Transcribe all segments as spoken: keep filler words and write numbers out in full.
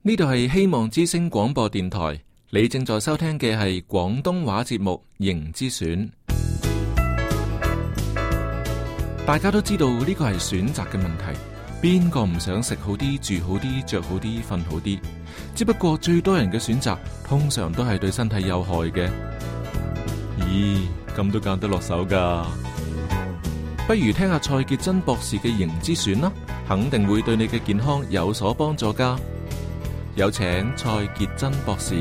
呢度係希望之聲廣播電台，你正在收聽嘅係廣東話節目《形之選》。大家都知道呢個係選擇嘅問題，邊個唔想食好啲、住好啲、着好啲、瞓好啲？只不過最多人嘅選擇通常都係對身體有害嘅。咦，咁都揀得落手噶？不如聽下蔡潔真博士嘅《形之選》啦，肯定會對你嘅健康有所幫助噶。有請蔡潔真博士。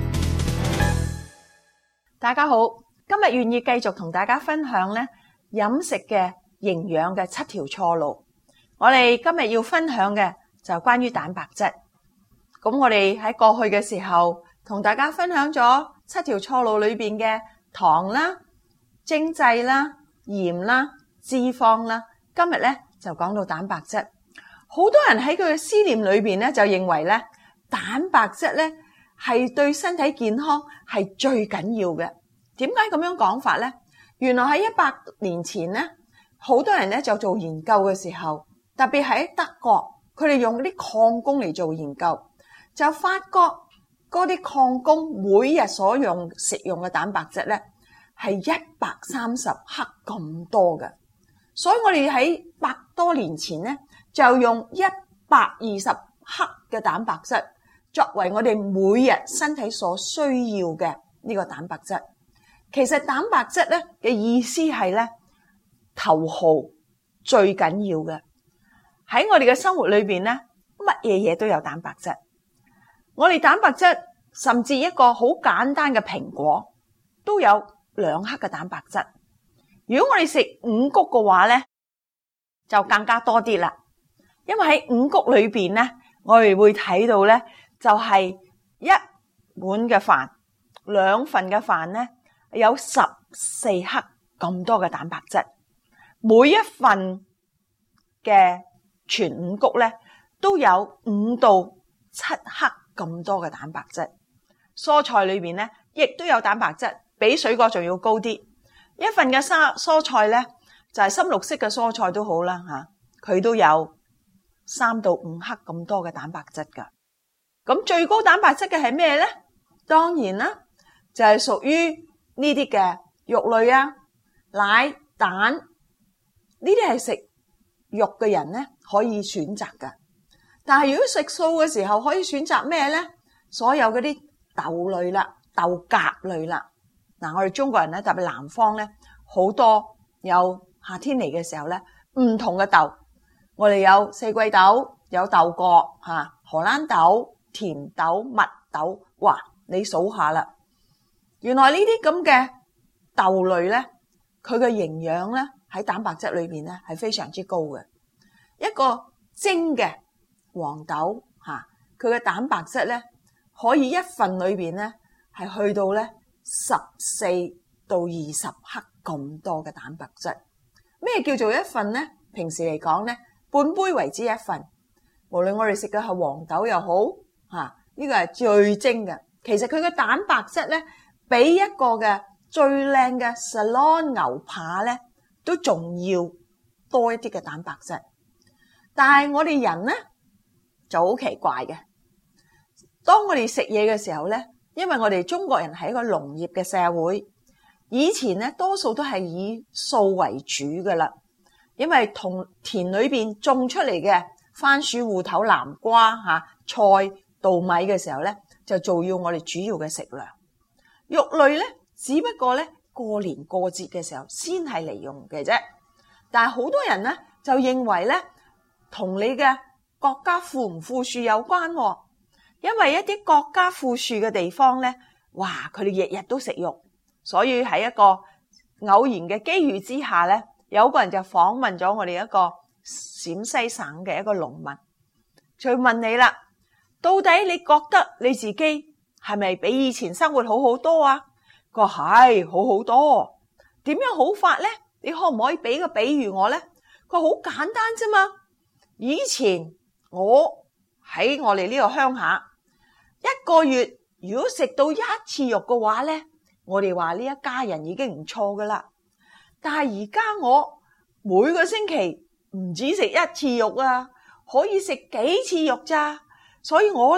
大家好，今日願意繼續同大家分享咧飲食嘅營養嘅七條錯路。我哋今日要分享嘅就係關於蛋白質。咁我哋喺過去嘅時候同大家分享咗七條錯路裏邊嘅糖啦、精製啦、鹽啦、脂肪啦。今日咧就講到蛋白質。好多人喺佢嘅思念裏邊咧就認為咧蛋白質咧係對身體健康係最緊要嘅。點解咁樣講法咧？原來喺一百年前咧，好多人咧就做研究嘅時候，特別喺德國，佢哋用啲礦工嚟做研究，就發覺嗰啲礦工每日所用食用嘅蛋白質咧係一百三十克咁多嘅。所以我哋喺百多年前咧就用一百二十克嘅蛋白質作為我哋每日身體所需要嘅呢個蛋白質。其實蛋白質咧嘅意思係咧頭號最緊要嘅。喺我哋嘅生活裏邊咧，乜嘢嘢都有蛋白質。我哋蛋白質甚至一個好簡單嘅蘋果都有兩克嘅蛋白質。如果我哋食五穀嘅話咧，就更加多啲啦。因為喺五穀裏邊咧，我哋會睇到咧，就係一碗嘅飯，兩份嘅飯咧有十四克咁多嘅蛋白質。每一份嘅全五穀咧都有五到七克咁多嘅蛋白質。蔬菜裏邊咧亦都有蛋白質，比水果仲要高啲。一份嘅沙蔬菜咧就係深綠色嘅蔬菜都好啦吓，佢都有三到五克咁多嘅蛋白質噶。咁最高蛋白質嘅係咩咧？當然啦，就係屬於呢啲嘅肉類啊、奶、蛋，呢啲係食肉嘅人咧可以選擇噶。但係如果食素嘅時候，可以選擇咩咧？所有嗰啲豆類啦、豆莢類啦。嗱，我哋中國人咧，特別南方咧，好多有夏天嚟嘅時候咧，唔同嘅豆。我哋有四季豆，有豆角吓、荷蘭豆、甜豆、蜜豆，哇！你數下啦。原來呢啲咁嘅豆類咧，佢嘅營養咧喺蛋白質裏邊咧係非常之高嘅。一個蒸嘅黃豆吓，佢嘅蛋白質咧可以一份裏邊咧係去到咧十四到二十克咁多嘅蛋白質。咩叫做一份咧？平時嚟講咧，半杯為之一份。無論我哋食嘅係黃豆又好吓，呢個係最精嘅。其實佢嘅蛋白質咧，比一個嘅最靚嘅 Salon 牛扒咧，都仲要多一啲嘅蛋白質。但係我哋人咧就好奇怪嘅。當我哋食嘢嘅時候咧，因為我哋中國人係一個農業嘅社會，以前咧多數都係以素為主噶啦。因為同田裏邊種出嚟嘅番薯、芋頭、南瓜吓、菜、稻米嘅時候咧，就做要我哋主要嘅食糧。肉類咧，只不過咧過年過節嘅時候先係嚟用嘅啫。但係好多人咧就認為咧，同你嘅國家富唔富庶有關。因為一啲國家富庶嘅地方咧，哇，佢哋日日都食肉，所以喺一個偶然嘅機遇之下咧，有個人就訪問咗我哋一個陝西省嘅一個農民，就問你啦，到底你覺得你自己係咪比以前生活好好多啊？佢話係好好多。點樣好法咧？你可唔可以俾個比喻我咧？佢話好簡單啫嘛。以前我喺我哋呢個鄉下，一個月如果食到一次肉嘅話咧，我哋話呢一家人已經唔錯噶啦。但係而家我每個星期唔止食一次肉啊，可以食幾次肉咋。所以我咧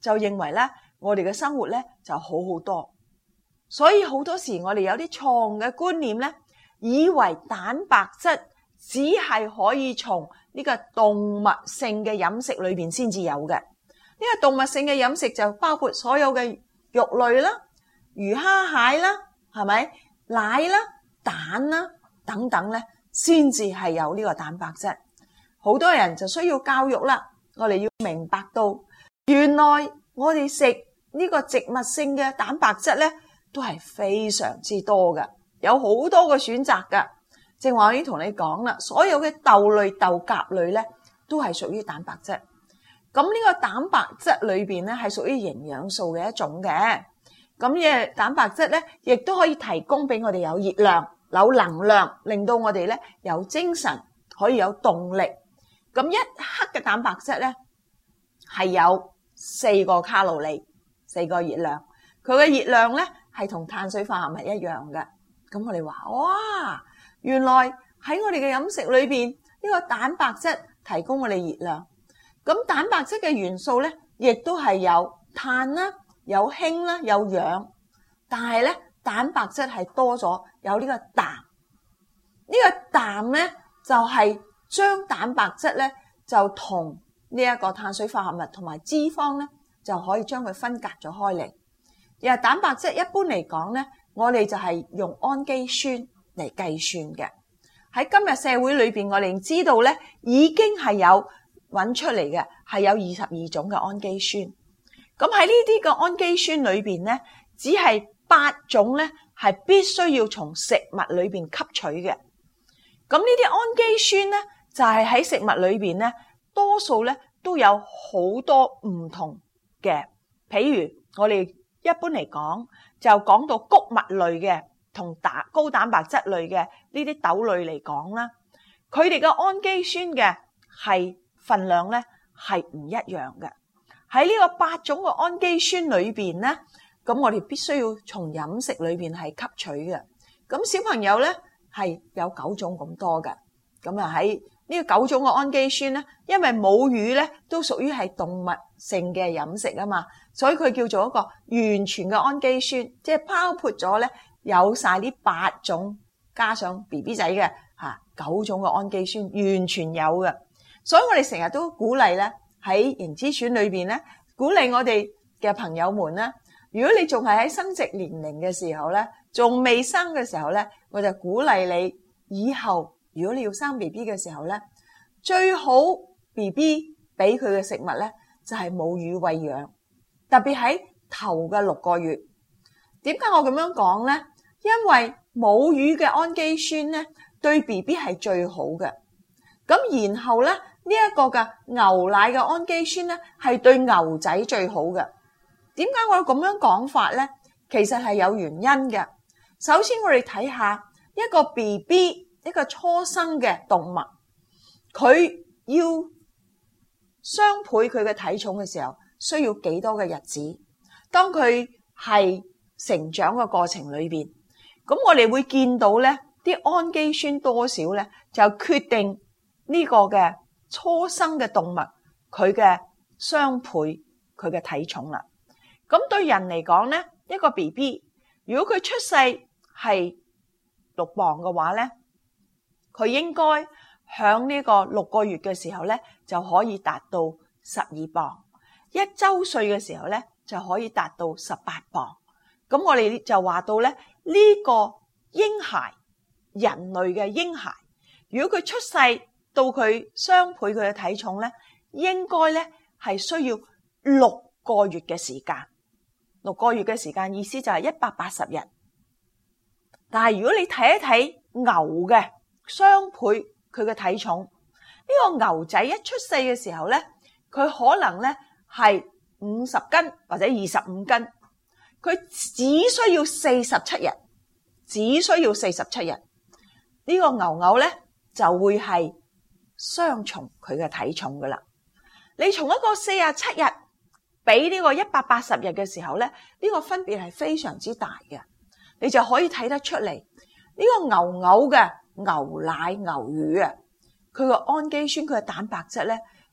就認為咧，我哋嘅生活咧就好好多。所以好多時我哋有啲錯誤嘅觀念咧，以為蛋白質只係可以從呢個動物性嘅飲食裏邊先至有嘅。呢個動物性嘅飲食就包括所有嘅肉類啦、魚蝦蟹啦，係咪？奶啦、蛋啦等等咧，先至係有呢個蛋白質。好多人就需要教育啦，我哋要明白到，原來我哋食呢個植物性嘅蛋白質咧，都係非常之多嘅，有好多個選擇噶。正話我已經同你講啦，所有嘅豆類、豆莢類咧，都係屬於蛋白質。咁呢個蛋白質裏邊咧，係屬於營養素嘅一種嘅。咁嘅蛋白質咧，亦都可以提供俾我哋有熱量、有能量，令到我哋咧有精神，可以有動力。咁一克嘅蛋白質咧，係有四個卡路里，四個熱量。佢嘅熱量咧係同碳水化合物一樣嘅。咁我哋話哇，原來喺我哋嘅飲食裏邊，呢個蛋白質提供我哋熱量。咁蛋白質嘅元素咧，亦都係有碳啦、有氫啦、有氧。但係咧，蛋白質係多咗有呢個氮。呢個氮咧就係將蛋白質咧就同呢一個碳水化合物同埋脂肪咧就可以將佢分隔咗開嚟。而蛋白質一般嚟講咧，我哋就係用氨基酸嚟計算嘅。喺今日社會裏邊，我哋知道咧已經係有揾出嚟嘅，係有二十二種嘅氨基酸。咁喺呢啲嘅氨基酸裏邊咧，只係八種咧係必須要從食物裏邊吸取嘅。咁呢啲氨基酸咧就係喺食物裏邊咧，多數咧都有好多唔同嘅。譬如我哋一般嚟講，就講到穀物類嘅同打高蛋白質類嘅呢啲豆類嚟講啦，佢哋嘅氨基酸嘅係份量咧係唔一樣嘅。喺呢個八種嘅氨基酸裏邊咧，咁我哋必須要從飲食裏邊係吸取嘅。咁小朋友咧係有九種咁多嘅。咁啊喺呢個九種嘅氨基酸咧，因為母乳咧都屬於係動物性嘅飲食啊嘛，所以佢叫做一個完全嘅氨基酸，即係包括咗咧有晒呢八種，加上 B B 仔嘅嚇九種嘅氨基酸，完全有嘅。所以我哋成日都鼓勵咧喺營資選裏邊咧，鼓勵我哋嘅朋友們咧，如果你仲係喺生殖年齡嘅時候咧，仲未生嘅時候咧，我就鼓勵你以後如果你要生 B B 嘅時候咧，最好 B B 俾佢嘅食物咧就係母乳餵養，特別喺頭嘅六個月。點解我咁樣講咧？因為母乳嘅氨基酸咧對 B B 係最好嘅。咁然後咧呢一個嘅牛奶嘅氨基酸咧係對牛仔最好嘅。點解我咁樣講法咧？其實係有原因嘅。首先我哋睇下一個 B B 一個初生嘅動物，佢要雙倍佢嘅體重嘅時候，需要幾多嘅日子？當佢係成長嘅過程裏邊，咁我哋會見到咧啲氨基酸多少咧，就決定呢個嘅初生嘅動物佢嘅雙倍佢嘅體重啦。咁對人嚟講咧，一個 B B 如果佢出世係六磅嘅話咧，佢應該響呢個六個月嘅時候咧就可以達到十二磅，一周歲嘅時候咧就可以達到十八磅。咁我哋就話到咧呢個嬰孩，人類嘅嬰孩，如果佢出世到佢雙倍佢嘅體重咧，應該咧係需要六個月嘅時間。六個月嘅時間意思就係一百八十日。但係如果你睇一睇牛嘅雙倍佢嘅體重，呢個牛仔一出世嘅時候咧，佢可能咧係五十斤或者二十五斤，佢只需要四十七日，只需要四十七日，呢個牛牛咧就會係雙重佢嘅體重噶啦。你從一個四十七日比呢個一百八十日嘅時候咧，呢個分別係非常之大嘅，你就可以睇得出嚟呢個牛牛嘅牛奶牛乳啊，佢個氨基酸佢嘅蛋白質咧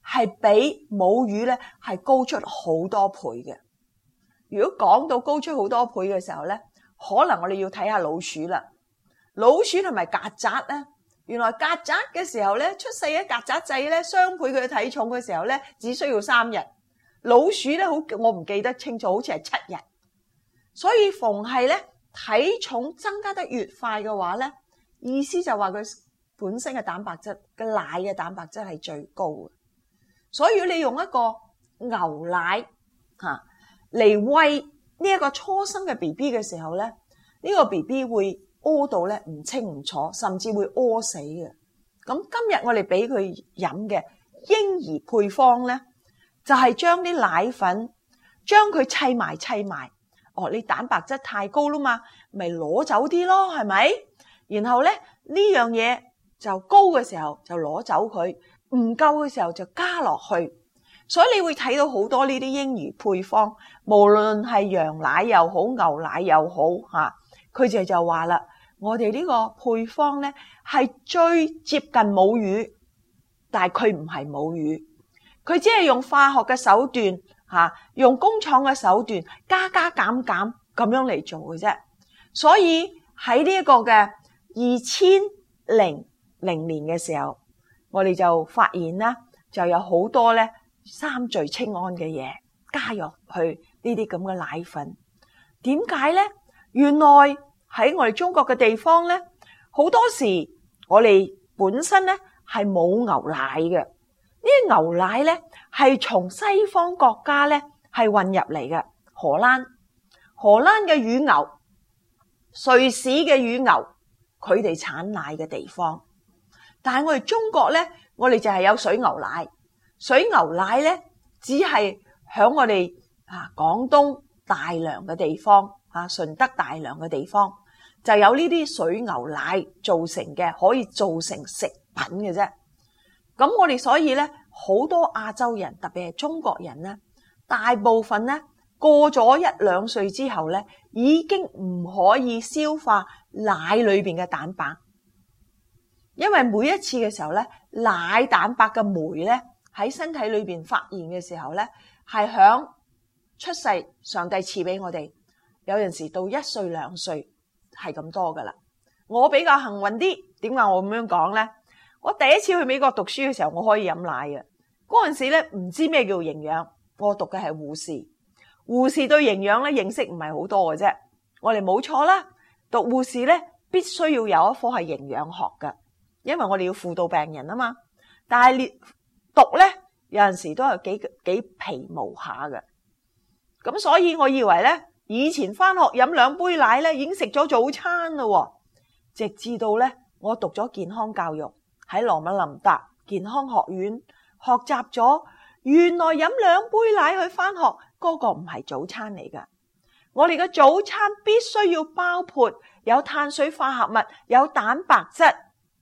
係比母乳咧係高出好多倍嘅。如果講到高出好多倍嘅時候咧，可能我哋要睇下老鼠啦。老鼠同埋曱甴咧，原來曱甴嘅時候咧，出世嘅曱甴仔咧雙倍佢嘅體重嘅時候咧，只需要三日。老鼠咧好，我唔記得清楚，好似係七日。所以逢係咧體重增加得越快嘅話咧，意思就話佢本身嘅蛋白質嘅奶嘅蛋白質係最高嘅。所以如果你用一個牛奶吓嚟餵呢一個初生嘅 B B 嘅時候咧，呢個 B B 會屙到咧唔清唔楚，甚至會屙死嘅。咁今日我哋俾佢飲嘅嬰兒配方咧，就係將啲奶粉將佢砌埋砌埋。哦，你蛋白質太高啦嘛，咪攞走啲咯，係咪？然後咧呢樣嘢就高嘅時候就攞走佢，唔夠嘅時候就加落去。所以你會睇到好多呢啲嬰兒配方，無論係羊奶又好，牛奶又好吓，佢哋就話啦，我哋呢個配方咧係最接近母乳，但係佢唔係母乳，佢只係用化學嘅手段吓，用工廠嘅手段加加減減咁樣嚟做嘅啫。所以喺呢一個嘅二千零零年嘅時候，我哋就發現啦，就有好多咧三聚氰胺嘅嘢加入去呢啲咁嘅奶粉。點解咧？原來喺我哋中國嘅地方咧，好多時我哋本身咧係冇牛奶嘅。呢啲牛奶咧係從西方國家咧係運入嚟嘅。荷蘭、荷蘭嘅乳牛、瑞士嘅乳牛，佢哋產奶嘅地方。但係我哋中國咧，我哋就係有水牛奶。水牛奶咧，只係響我哋啊廣東大良嘅地方啊，順德大良嘅地方就有呢啲水牛奶做成嘅，可以做成食品嘅啫。咁我哋所以咧，好多亞洲人，特別係中國人咧，大部分咧過咗一兩歲之後咧，已經唔可以消化奶裏邊嘅蛋白，因為每一次嘅時候咧，奶蛋白嘅酶咧喺身體裏邊發現嘅時候咧，係響出世上帝賜俾我哋，有陣時到一歲兩歲係咁多噶啦。我比較幸運啲，點解我咁樣講咧？我第一次去美國讀書嘅時候，我可以飲奶嘅。嗰陣時咧唔知咩叫營養，我讀嘅係護士，護士對營養咧認識唔係好多嘅啫。我哋冇錯啦，讀護士咧必須要有一科係營養學嘅，因為我哋要輔導病人啊嘛。但係讀咧有陣時都係幾幾皮毛下嘅，咁所以我以為咧以前翻學飲兩杯奶咧已經食咗早餐咯，直至到咧我讀咗健康教育喺羅密林達健康學院學習咗，原來飲兩杯奶去翻學嗰個唔係早餐嚟噶。我哋嘅早餐必須要包括有碳水化合物、有蛋白質、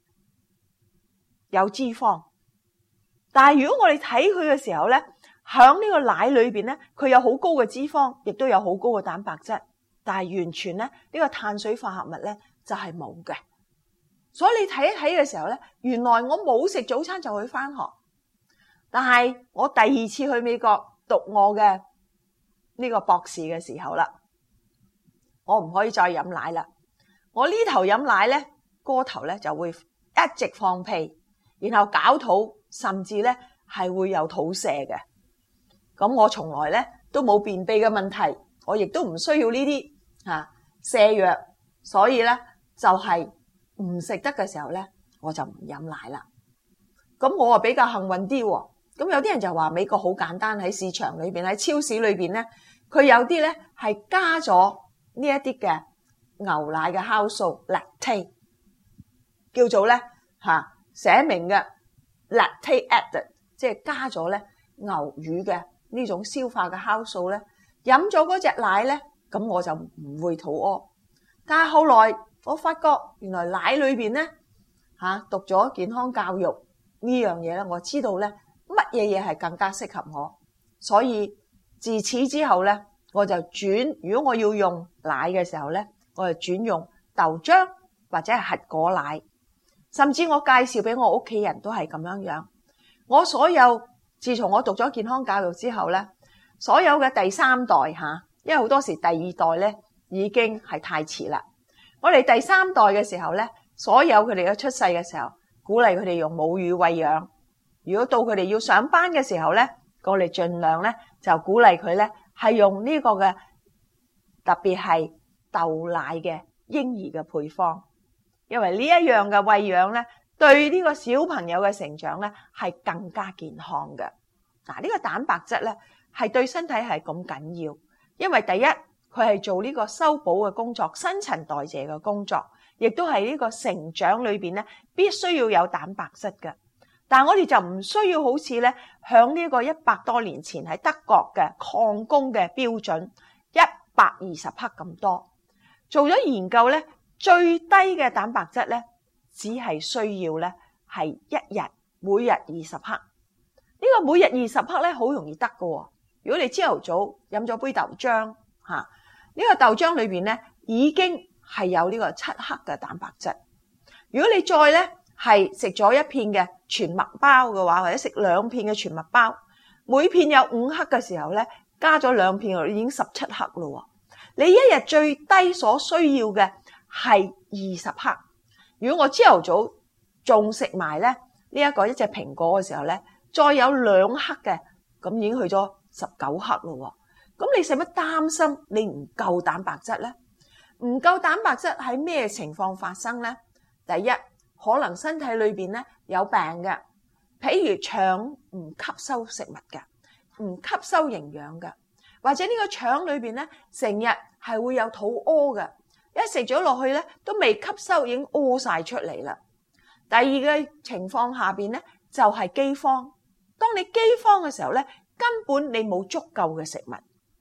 有脂肪。但係如果我哋睇佢嘅時候咧，響呢個奶裏邊咧，佢有好高嘅脂肪，亦都有好高嘅蛋白質，但係完全咧呢個碳水化合物咧就係冇嘅。所以你睇一睇嘅時候咧，原來我冇食早餐就去翻學。但係我第二次去美國讀我嘅呢個博士嘅時候啦，我唔可以再飲奶啦。我呢頭飲奶咧，嗰頭咧就會一直放屁，然後搞肚，甚至咧係會有肚瀉嘅。咁我從來咧都冇便秘嘅問題，我亦都唔需要呢啲吓瀉藥，所以咧就係唔食得嘅時候咧，我就唔飲奶啦。咁我啊比較幸運啲喎。咁有啲人就話美國好簡單，喺市場裏邊，喺超市裏邊咧，佢有啲咧係加咗呢一啲嘅牛奶嘅酵素 lactate， 叫做咧吓寫明嘅 lactate added， 即係加咗咧牛乳嘅呢種消化嘅酵素咧，飲咗嗰隻奶咧，咁我就唔會肚屙。但係後來我發覺原來奶裏邊咧吓讀咗健康教育呢樣嘢咧，我知道咧乜嘢嘢係更加適合我，所以自此之後咧，我就轉，如果我要用奶嘅時候咧，我就轉用豆漿或者係核果奶，甚至我介紹俾我屋企人都係咁樣樣。我所有自從我讀咗健康教育之後咧，所有嘅第三代吓，因為好多時第二代咧已經係太遲啦。我哋第三代嘅時候咧，所有佢哋嘅出世嘅時候，鼓勵佢哋用母乳餵養。如果到佢哋要上班嘅時候咧，我哋盡量咧就鼓勵佢咧係用呢個嘅，特別係豆奶嘅嬰兒嘅配方，因為呢一樣嘅餵養咧，對呢個小朋友嘅成長咧係更加健康嘅。嗱，呢個蛋白質咧係對身體係咁緊要，因為第一佢係做呢個修補嘅工作、新陳代謝嘅工作，亦都係呢個成長裏邊咧必須要有蛋白質嘅。但係我哋就唔需要好似咧響呢個一百多年前喺德國嘅礦工嘅標準一百二十克咁多。做咗研究咧，最低嘅蛋白質咧只係需要咧係一日每日二十克。呢個每日二十克咧好容易得㗎喎。如果你朝頭早飲咗杯豆漿嚇，呢個豆漿裏邊咧已經係有呢個七克嘅蛋白質。如果你再咧係食咗一片嘅全麥包嘅話，或者食兩片嘅全麥包，每片有五克嘅時候咧，加咗兩片已經十七克咯。你一日最低所需要嘅係二十克。如果我朝頭早仲食埋咧呢一個一隻蘋果嘅時候咧，再有兩克嘅，咁已經去咗十九克咯。咁你使乜擔心你唔夠蛋白質咧？唔夠蛋白質喺咩情況發生咧？第一，可能身體裏邊咧有病嘅，譬如腸唔吸收食物嘅，唔吸收營養嘅，或者呢個腸裏邊咧成日係會有肚屙嘅，一食咗落去咧都未吸收已經屙晒出嚟啦。第二個情況下邊咧就係饑荒。當你饑荒嘅時候咧，根本你冇足夠嘅食物。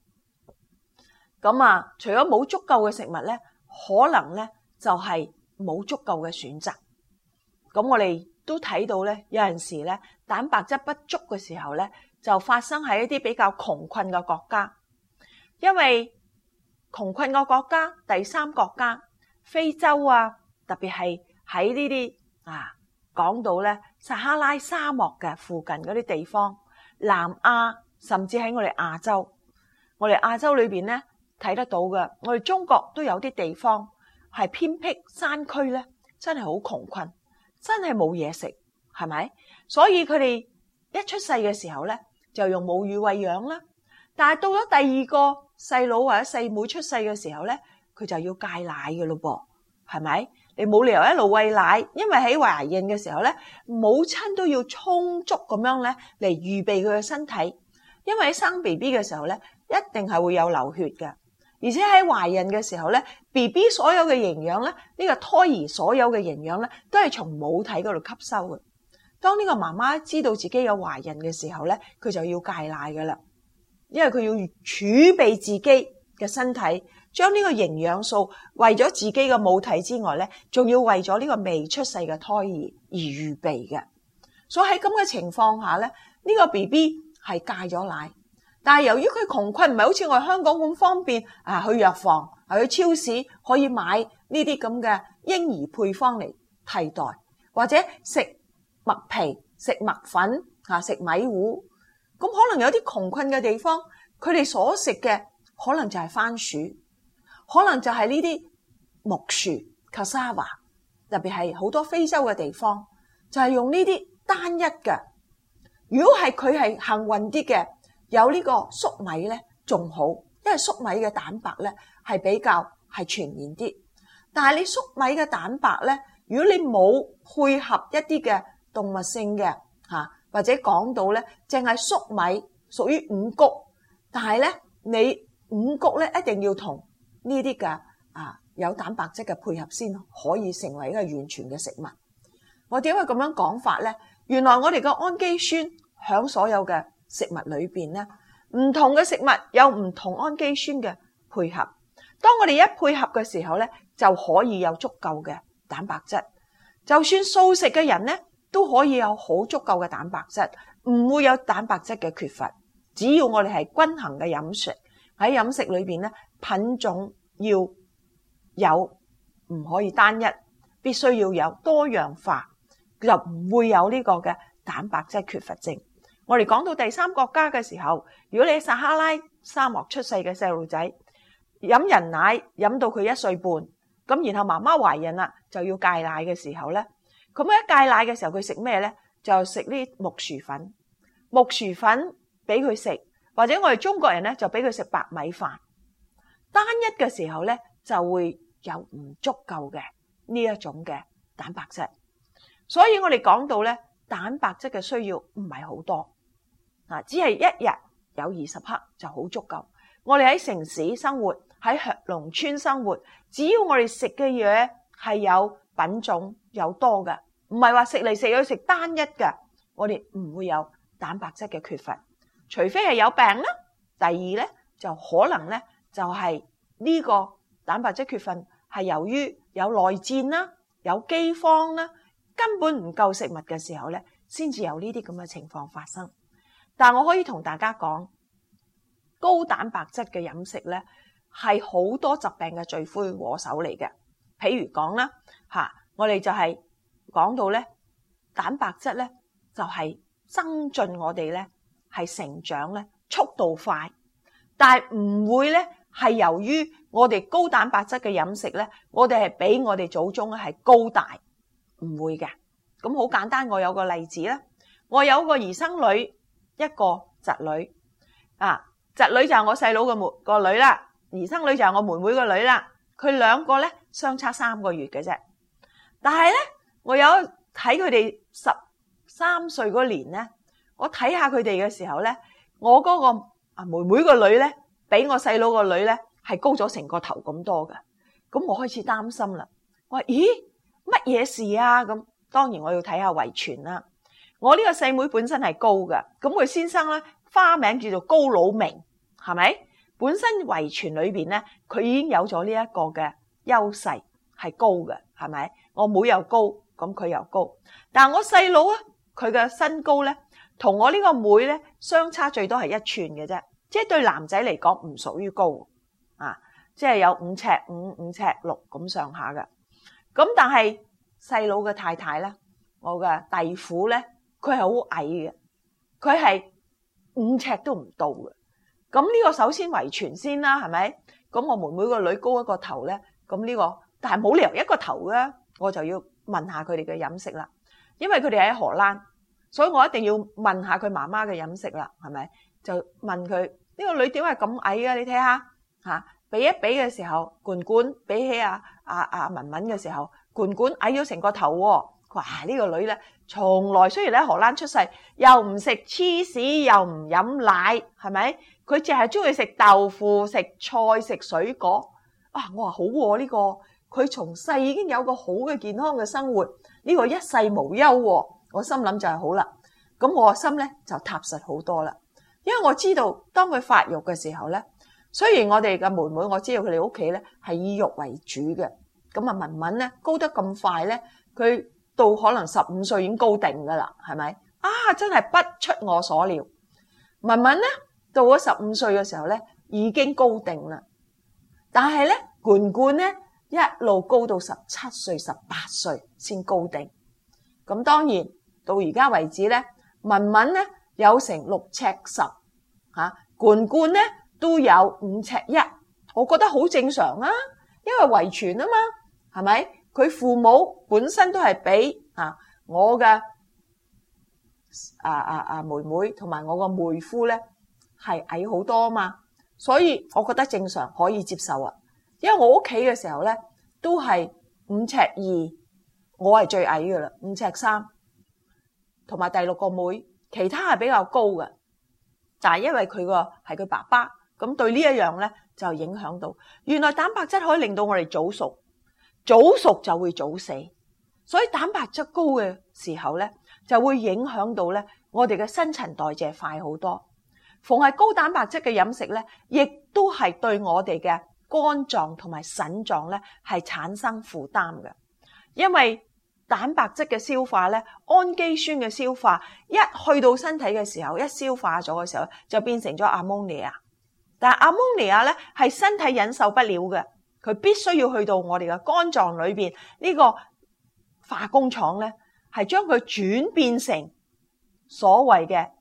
咁啊，除咗冇足夠嘅食物咧，可能咧就係冇足夠嘅選擇。咁我哋都睇到咧，有陣時咧蛋白質不足嘅時候咧，就發生喺一啲比較窮困嘅國家。因為窮困嘅國家，第三國家，非洲啊，特別係喺呢啲啊講到咧撒哈拉沙漠嘅附近嗰啲地方，南亞甚至喺我哋亞洲，我哋亞洲裏邊咧睇得到嘅，我哋中國都有啲地方係偏僻山區咧，真係好窮困。真係冇嘢食，係咪？所以佢哋一出世嘅時候咧，就用母乳餵養啦。但係到咗第二個細佬或者細妹出世嘅時候咧，佢就要戒奶嘅咯噃，係咪？你冇理由一路餵奶，因為喺懷孕嘅時候咧，母親都要充足咁樣咧嚟預備佢嘅身體，因為喺生 B B 嘅時候咧，一定係會有流血嘅。而且喺懷孕嘅時候咧 ，B B 所有嘅營養咧，呢個胎兒所有嘅營養咧，都係從母體嗰度吸收嘅。當呢個媽媽知道自己有懷孕嘅時候咧，佢就要戒奶噶啦，因為佢要儲備自己嘅身體，將呢個營養素為咗自己嘅母體之外咧，仲要為咗呢個未出世嘅胎兒而預備嘅。所以喺咁嘅情況下咧，呢個 B B 係戒咗奶。但係由於佢窮困，唔係好似我哋香港咁方便啊，去藥房、啊去超市可以買呢啲咁嘅嬰兒配方嚟替代，或者食麥皮、食麥粉、啊食米糊。咁可能有啲窮困嘅地方，佢哋所食嘅可能就係番薯，可能就係呢啲木薯 cassava， 特別係好多非洲嘅地方，就係用呢啲單一嘅。如果係佢係幸運啲嘅，有呢個粟米咧仲好，因為粟米嘅蛋白咧係比較係全面啲。但係你粟米嘅蛋白咧，如果你冇配合一啲嘅動物性嘅嚇，或者講到咧，淨係粟米屬於五穀，但係咧你五穀咧一定要同呢啲嘅啊有蛋白質嘅配合先可以成為一個完全嘅食物。我點解咁樣講法咧？原來我哋嘅氨基酸響所有嘅食物裏邊咧，唔同嘅食物有唔同氨基酸嘅配合。當我哋一配合嘅時候咧，就可以有足夠嘅蛋白質。就算素食嘅人咧，都可以有好足夠嘅蛋白質，唔會有蛋白質嘅缺乏。只要我哋係均衡嘅飲食，喺飲食裏邊咧，品種要有，唔可以單一，必須要有多樣化，就唔會有呢個嘅蛋白質缺乏症。 我哋講到第三國家嘅時候，如果你喺撒哈拉沙漠出世嘅細路仔，飲人奶飲到佢一歲半，咁然後媽媽懷孕啦，就要戒奶嘅時候咧，咁一戒奶嘅時候佢食咩咧？就食呢木薯粉，木薯粉俾佢食，或者我哋中國人咧就俾佢食白米飯。單一嘅時候咧就會有唔足夠嘅呢一種嘅蛋白質，所以我哋講到咧蛋白質嘅需要唔係好多，啊，只係一日有二十克就好足夠。我哋喺城市生活，喺農村生活，只要我哋食嘅嘢係有品種有多嘅，唔係話食嚟食去食單一嘅，我哋唔會有蛋白質嘅缺乏，除非係有病啦。第二咧就可能咧就係呢個蛋白質缺乏係由於有內戰啦，有饑荒啦，根本唔夠食物嘅時候咧，先至有呢啲咁嘅情況發生。但我可以同大家講，高蛋白質嘅飲食咧係好多疾病嘅罪魁禍首嚟嘅。譬如講啦嚇，我哋就係講到咧蛋白質咧就係增進我哋咧係成長咧速度快，但係唔會咧係由於我哋高蛋白質嘅飲食咧，我哋係比我哋祖宗咧係高大，唔會嘅。咁好簡單，我有個例子啦，我有個兒生女，一個侄女啊，侄女就係我細佬嘅妹個女啦，兒生女就係我妹妹個女啦。佢兩個咧相差三個月嘅啫，但係咧我有睇佢哋十三歲嗰年咧，我睇下佢哋嘅時候咧，我嗰個啊妹妹個女咧，比我細佬個女咧係高咗成個頭咁多嘅。咁我開始擔心啦，我話咦乜嘢事啊？咁當然我要睇下遺傳啦。我呢個細妹本身係高嘅，咁佢先生咧花名叫做高老明，係咪？本身遺傳裏邊咧，佢已經有咗呢一個嘅優勢，係高嘅，係咪？我妹又高，咁佢又高。但係我細佬啊，佢嘅身高咧，同我呢個妹咧相差最多係一寸嘅啫，即係對男仔嚟講唔屬於高啊，即係有五尺五、五尺六咁上下嘅。咁但係細佬嘅太太咧，我嘅弟婦咧，佢係好矮嘅，佢係五尺都唔到嘅。咁呢個首先遺傳先啦，係咪？咁我妹妹個女高一個頭咧，咁呢個，但係冇理由一個頭嘅，我就要問下佢哋嘅飲食啦。因為佢哋喺荷蘭，所以我一定要問下佢媽媽嘅飲食啦，係咪？就問佢呢個女點解咁矮啊？你睇下嚇，比一比嘅時候，罐罐比起阿阿阿文文嘅時候，罐罐矮咗成個頭喎。佢話呢個女咧，從來雖然喺荷蘭出世，又唔食芝士，又唔飲奶，係咪？佢淨係中意食豆腐、食菜、食水果。啊，我話好喎，呢個佢從細已經有個好嘅健康嘅生活，呢個一世無憂喎。我心諗就係好啦。咁我個心咧就踏實好多啦。因為我知道當佢發育嘅時候咧，雖然我哋嘅妹妹我知道佢哋屋企咧係以肉為主嘅，咁啊文文咧高得咁快咧，佢到可能十五歲已經高定噶啦，係咪？啊，真係不出我所料。文文咧到咗十五歲嘅時候咧，已經高定啦。但係咧，罐罐咧一路高到十七歲、十八歲先高定。咁當然到而家為止咧，文文咧有成六尺十，吓罐罐咧都有五尺一。我覺得好正常啊，因為遺傳啊嘛，係咪？佢父母本身都係比啊我嘅啊啊啊妹妹同埋我個妹夫咧係矮好多啊嘛，所以我覺得正常可以接受啊。因為我屋企嘅時候咧都係五尺二，我係最矮噶啦，五尺三，同埋第六個妹，其他係比較高嘅。但係因為佢個係佢爸爸，咁對呢一樣咧就影響到。原來蛋白質可以令到我哋早熟。早熟就會早死，所以蛋白質高嘅時候咧，就會影響到咧我哋嘅新陳代謝快好多。逢係高蛋白質嘅飲食咧，亦都係對我哋嘅肝臟同埋腎臟咧係產生負擔嘅。因為蛋白質嘅消化咧，氨基酸嘅消化一去到身體嘅時候，一消化咗嘅時候就變成咗阿摩尼亞。但係阿摩尼亞咧係身體忍受不了嘅。佢必須要去到我哋嘅肝臟裏邊呢個化工廠咧，係將佢轉變成所謂嘅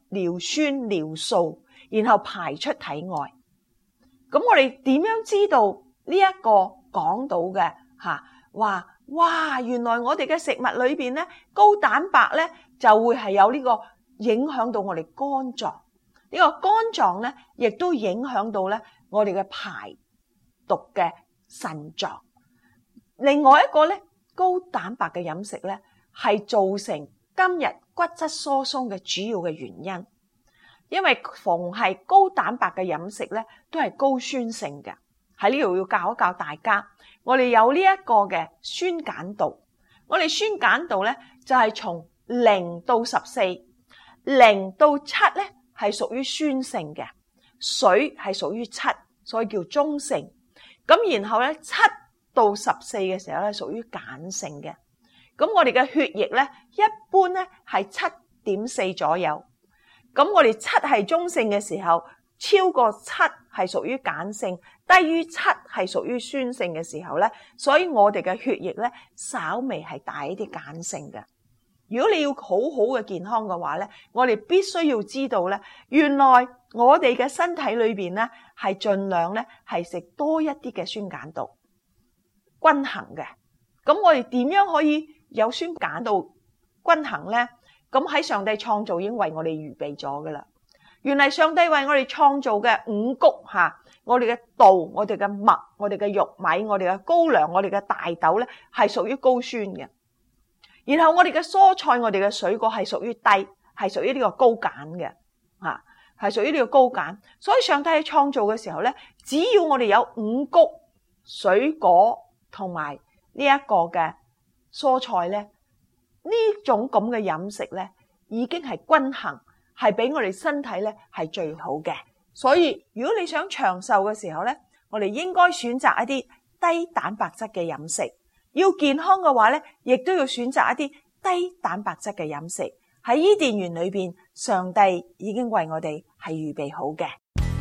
尿酸、尿素，然後排出體外。咁我哋點樣知道呢一個講到嘅吓話哇，原來我哋嘅食物裏邊咧高蛋白咧就會係有呢個影響到我哋肝臟，呢個肝臟咧亦都影響到咧我哋嘅排毒嘅腎臟。另外一個咧高蛋白嘅飲食咧係造成今日骨質疏鬆嘅主要嘅原因，因為逢係高蛋白嘅飲食咧都係高酸性嘅。喺呢度要教一教大家，我哋有呢一個嘅酸鹼度，我哋酸鹼度咧就係從零到十四，零到七咧係屬於酸性嘅，水係屬於七，所以叫中性。咁然後咧七到十四嘅時候咧屬於鹼性嘅。咁我哋嘅血液咧一般咧係七點四左右。咁我哋七係中性嘅時候，超過七係屬於鹼性，低於七係屬於酸性嘅時候咧，所以我哋嘅血液咧稍微係大一啲鹼性嘅。如果你要好好嘅健康嘅話咧，我哋必須要知道咧，原來我哋嘅身體裏邊咧係盡量咧係食多一啲嘅酸鹼度，均衡嘅。咁我哋點樣可以有酸鹼度均衡咧？咁喺上帝創造已經為我哋預備咗噶啦。原來上帝為我哋創造嘅五穀吓，我哋嘅稻、我哋嘅麥、我哋嘅玉米、我哋嘅高粱、我哋嘅大豆咧係屬於高酸嘅。然後我哋嘅蔬菜、我哋嘅水果係屬於低，係屬於呢個高鹼嘅吓，係屬於呢個高鹼。所以上帝喺創造嘅時候咧，只要我哋有五穀、水果同埋呢一個嘅蔬菜咧，呢種咁嘅飲食咧，已經係均衡，係俾我哋身體咧係最好嘅。所以如果你想長壽嘅時候咧，我哋應該選擇一啲低蛋白質嘅飲食。要健康嘅話咧，亦都要選擇一啲低蛋白質嘅飲食。喺伊甸園裏邊，上帝已經為我哋係預備好嘅。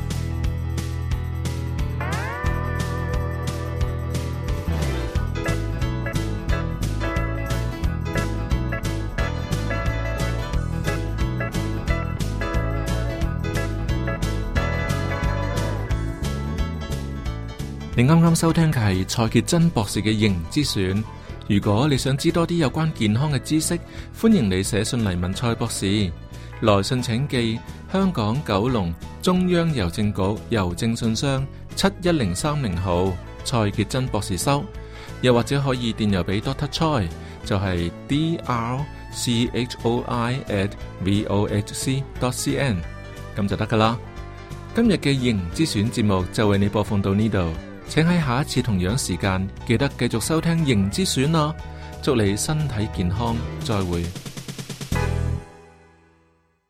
你啱啱收聽嘅係蔡潔真博士嘅營之選。如果你想知多啲有關健康嘅知識，歡迎你寫信嚟問蔡博士。來信請寄香港九龍中央郵政局郵政信箱七一零三零號，蔡潔真博士收。又或者可以電郵俾 Doctor Choi， 就係 d r c h o i at v o h c dot c n， 咁就得噶啦。今日嘅營之選節目就為你播放到呢度。請喺下一次同樣時間記得繼續收聽營之選啦！祝你身體健康，再會。